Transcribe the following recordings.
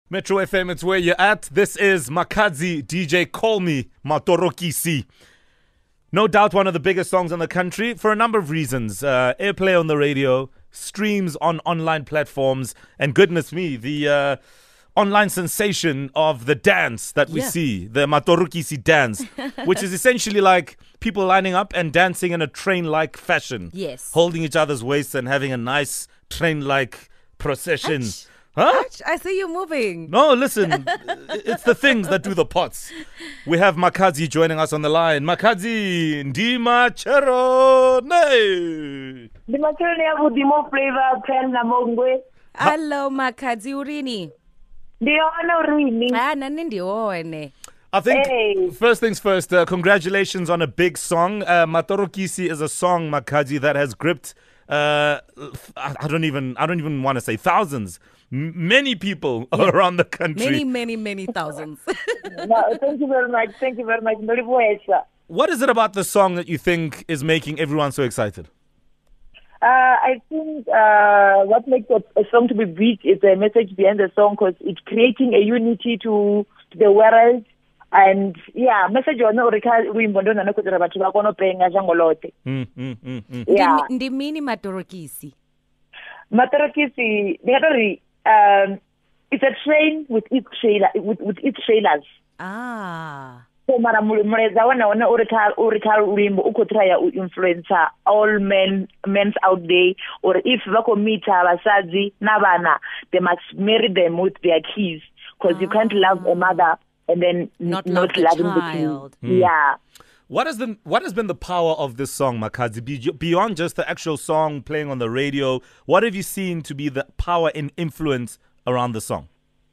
Metro FM, it's where you're at. This is Makadzi DJ Call Me Matorokisi. No doubt one of the biggest songs in the country for a number of reasons. Airplay on the radio, streams on online platforms, and goodness me, the online sensation of the dance that we see, the Matorokisi dance, which is essentially like people lining up and dancing in a train-like fashion. Yes. Holding each other's waists and having a nice train-like procession. Ach. Huh? I see you moving. No, listen, it's the things that do the pots. We have Makadzi joining us on the line. Makadzi, Ndima Cherone. Ndima Cherone yabu Dimo Flavor Pen na Mongwe. Hello, Makadzi urini. Ndiona urini. Nani ndione. I think, first things first, congratulations on a big song. Matorokisi is a song, Makadzi, that has gripped, I don't even want to say thousands. Many people around the country. Many thousands. No, thank you very much. Thank you very much. What is it about the song that you think is making everyone so excited? I think what makes a song to be big is the message behind the song, because it's creating a unity to the world. And message on uimbondona nokuti bathu bakona penga jangolote. Yeah. Ndimini Matorokisi. Matorokisi, it's a train with its trailer, with its trailers. So mara muleza wana urika ulimbo uko try influencer all men's out there, or if bako meet abasazi nabana, they must marry them with their kids, because you can't love a mother and then not loving the child. Yeah. What has been the power of this song, Makadzi? Beyond just the actual song playing on the radio, what have you seen to be the power and influence around the song?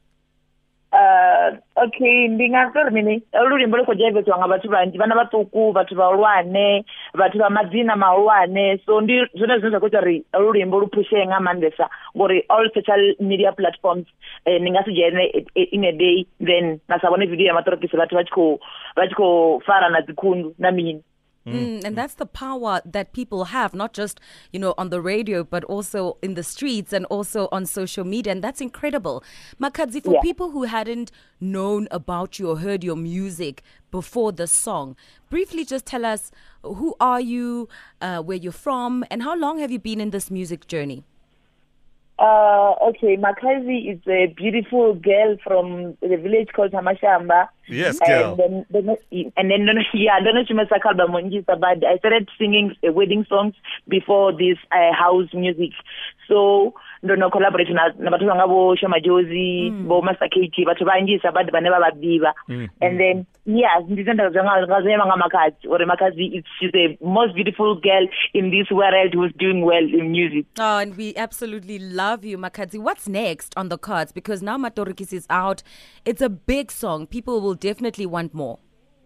Okay, ndingatori mini urimbo lokojaivetwa ngabathu banji vana vatuku vathu vaulwane vathu va madzina maulwane, so ndi zvone zvinoita kuti ri urimbo lupushe nga mandesa ngori all social media platforms ningasijene in a day then nasabone video ya Matorokisi vathu vachiko fara na dzikundu na mini. And that's the power that people have, not just, on the radio, but also in the streets and also on social media. And that's incredible. Makadzi, for people who hadn't known about you or heard your music before the song, briefly just tell us, who are you, where you're from, and how long have you been in this music journey? Okay, Makadzi is a beautiful girl from the village called Hamashamba. Yes, girl. And then I don't know if you must have called Monjisa, but I started singing wedding songs before this house music. So, no collaboration na bathu ngabo Shama Jozi, bo Master KT, bathu banjisa but baneba badiva. And then ndizenda ngazema ngamakadzi, or Makadzi, she's the most beautiful girl in this world who's doing well in music. Oh, and we absolutely love you, Makadzi. What's next on the cards? Because now Matorokisi is out. It's a big song. People will definitely want more.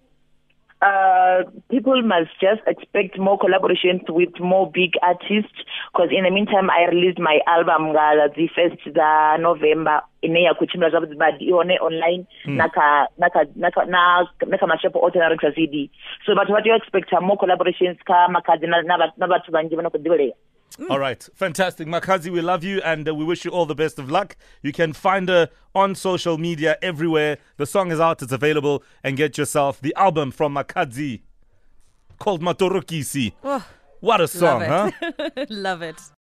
People must just expect more collaborations with more big artists, because in the meantime I released my album the 1st November ineya kuchimba zwabudzi badi ione online naka mashapo ordinary CD. So but what you expect are more collaborations ka Makadzi na bathu banji banokudiweleya. All right. Fantastic. Makadzi, we love you and we wish you all the best of luck. You can find her on social media everywhere. The song is out. It's available. And get yourself the album from Makadzi called Matorokisi. Oh, what a song, huh? Love it.